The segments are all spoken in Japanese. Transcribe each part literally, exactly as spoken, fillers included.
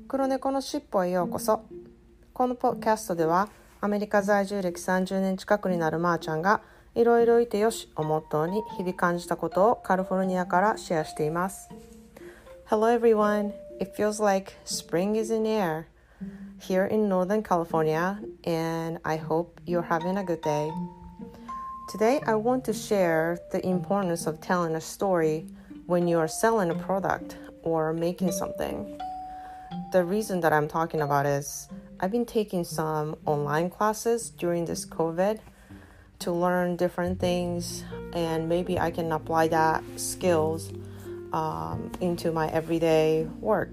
黒猫のしっぽへようこそ。このポッドキャストではアメリカ在住歴さんじゅうねん近くになるまーちゃんがいろいろいてよしをモットーに日々感じたことをカリフォルニアからシェアしています。 Hello everyone, it feels like spring is in the air here in Northern California and I hope you're having a good day. Today I want to share the importance of telling a story when you are selling a product or making something.The reason that I'm talking about is I've been taking some online classes during this COVID to learn different things and maybe I can apply that skills um, into my everyday work.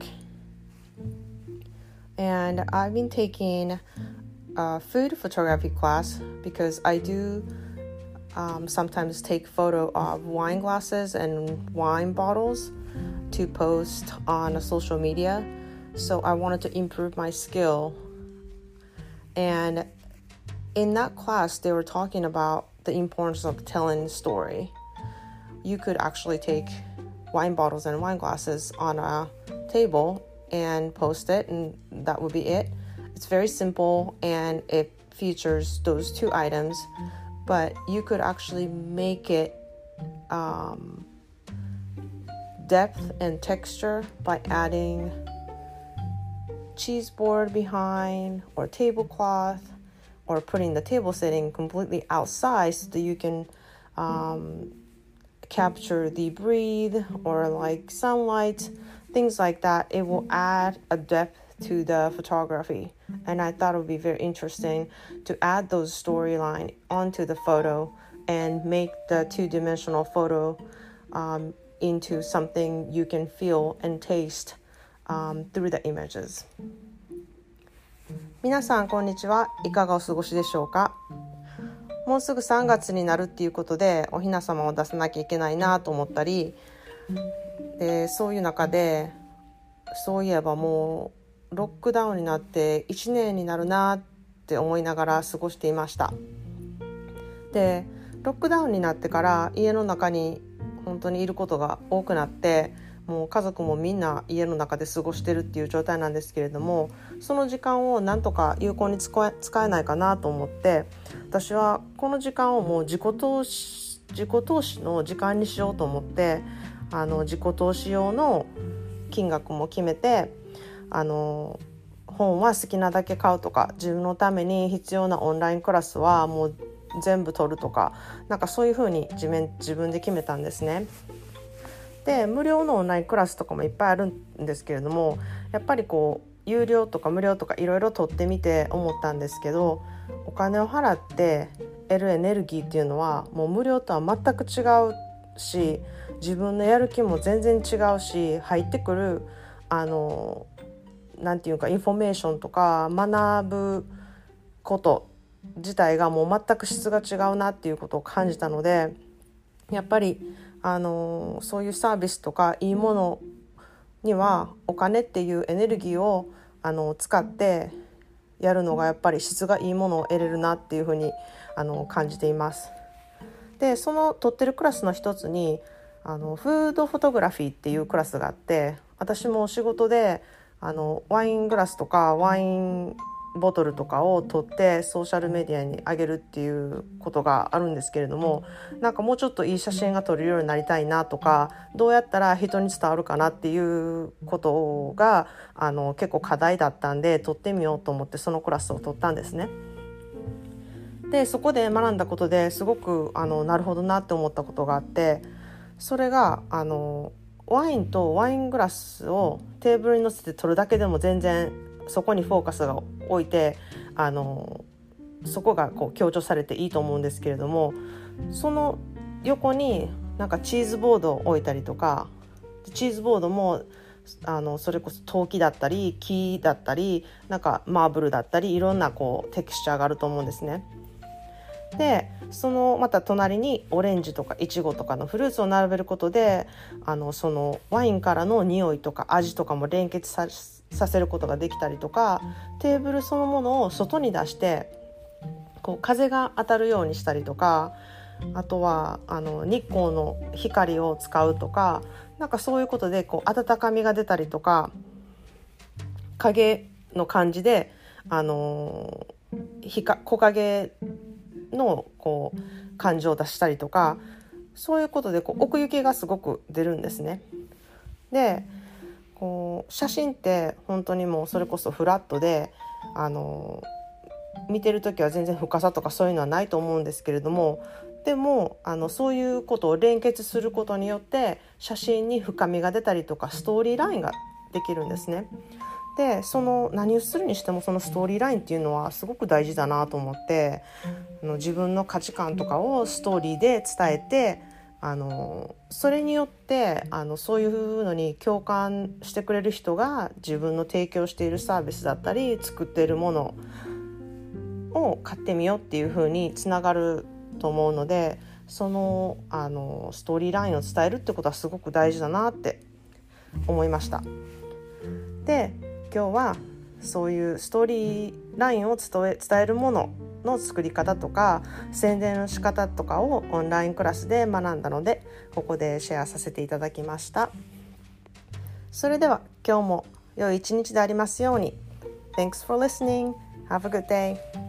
And I've been taking a food photography class because I do um, sometimes take photo of wine glasses and wine bottles to post on social media.So I wanted to improve my skill. And in that class, they were talking about the importance of telling a story. You could actually take wine bottles and wine glasses on a table and post it, and that would be it. It's very simple, and it features those two items, but you could actually make it um, depth and texture by adding...cheese board behind or tablecloth or putting the table setting completely outside so that you can um, capture the breeze or like sunlight, things like that. It will add a depth to the photography, and I thought it would be very interesting to add those storyline onto the photo and make the two-dimensional photo um, into something you can feel and taste.Um, through the images. 皆さんこんにちは。いかがお過ごしでしょうか。もうすぐさんがつになるっていうことでお雛様を出さなきゃいけないなと思ったりで、そういう中でそういえばもうロックダウンになっていちねんになるなって思いながら過ごしていました。で、ロックダウンになってから家の中に本当にいることが多くなってもう家族もみんな家の中で過ごしてるっていう状態なんですけれども、その時間をなんとか有効に使え、使えないかなと思って、私はこの時間をもう自己投資、自己投資の時間にしようと思って、あの自己投資用の金額も決めて、あの本は好きなだけ買うとか、自分のために必要なオンラインクラスはもう全部取るとか、なんかそういうふうに自分、自分で決めたんですね。で、無料のオンラインクラスとかもいっぱいあるんですけれども、やっぱりこう有料とか無料とかいろいろ取ってみて思ったんですけど、お金を払って得るエネルギーっていうのはもう無料とは全く違うし、自分のやる気も全然違うし、入ってくるあのなんていうかインフォメーションとか学ぶこと自体がもう全く質が違うなっていうことを感じたので、やっぱりあのそういうサービスとかいいものにはお金っていうエネルギーをあの使ってやるのがやっぱり質がいいものを得れるなっていうふうにあの感じています。で、その取ってるクラスの一つにあのフードフォトグラフィーっていうクラスがあって、私も仕事であのワイングラスとかワインボトルとかを取ってソーシャルメディアに上げるっていうことがあるんですけれども、なんかもうちょっといい写真が撮れるようになりたいなとか、どうやったら人に伝わるかなっていうことがあの結構課題だったんで、撮ってみようと思ってそのクラスを取ったんですね。で、そこで学んだことですごくあのなるほどなって思ったことがあって、それがあのワインとワイングラスをテーブルに乗せて撮るだけでも全然そこにフォーカスが置いてあのそこがこう強調されていいと思うんですけれども、その横になんかチーズボードを置いたりとか、チーズボードもあのそれこそ陶器だったり木だったりなんかマーブルだったりいろんなこうテクスチャーがあると思うんですね。で、そのまた隣にオレンジとかイチゴとかのフルーツを並べることであのそのワインからの匂いとか味とかも連結ささせることができたりとか、テーブルそのものを外に出してこう風が当たるようにしたりとか、あとはあの日光の光を使うとか、なんかそういうことでこう温かみが出たりとか、 影の感じで、あのー、木陰のこう感情を出したりとか、そういうことでこう奥行きがすごく出るんですね。でこう写真って本当にもうそれこそフラットで、あの見てる時は全然深さとかそういうのはないと思うんですけれども、でもあのそういうことを連結することによって写真に深みが出たりとかストーリーラインができるんですね。でその何をするにしてもそのストーリーラインっていうのはすごく大事だなと思って、あの自分の価値観とかをストーリーで伝えて、あのそれによってあのそういうのに共感してくれる人が自分の提供しているサービスだったり作っているものを買ってみようっていう風につながると思うので、その、あのストーリーラインを伝えるってことはすごく大事だなって思いました。で今日はそういうストーリーラインを伝え、伝えるものの作り方とか宣伝の仕方とかをオンラインクラスで学んだので、ここでシェアさせていただきました。それでは今日も良い一日でありますように。 Thanks for listening. Have a good day.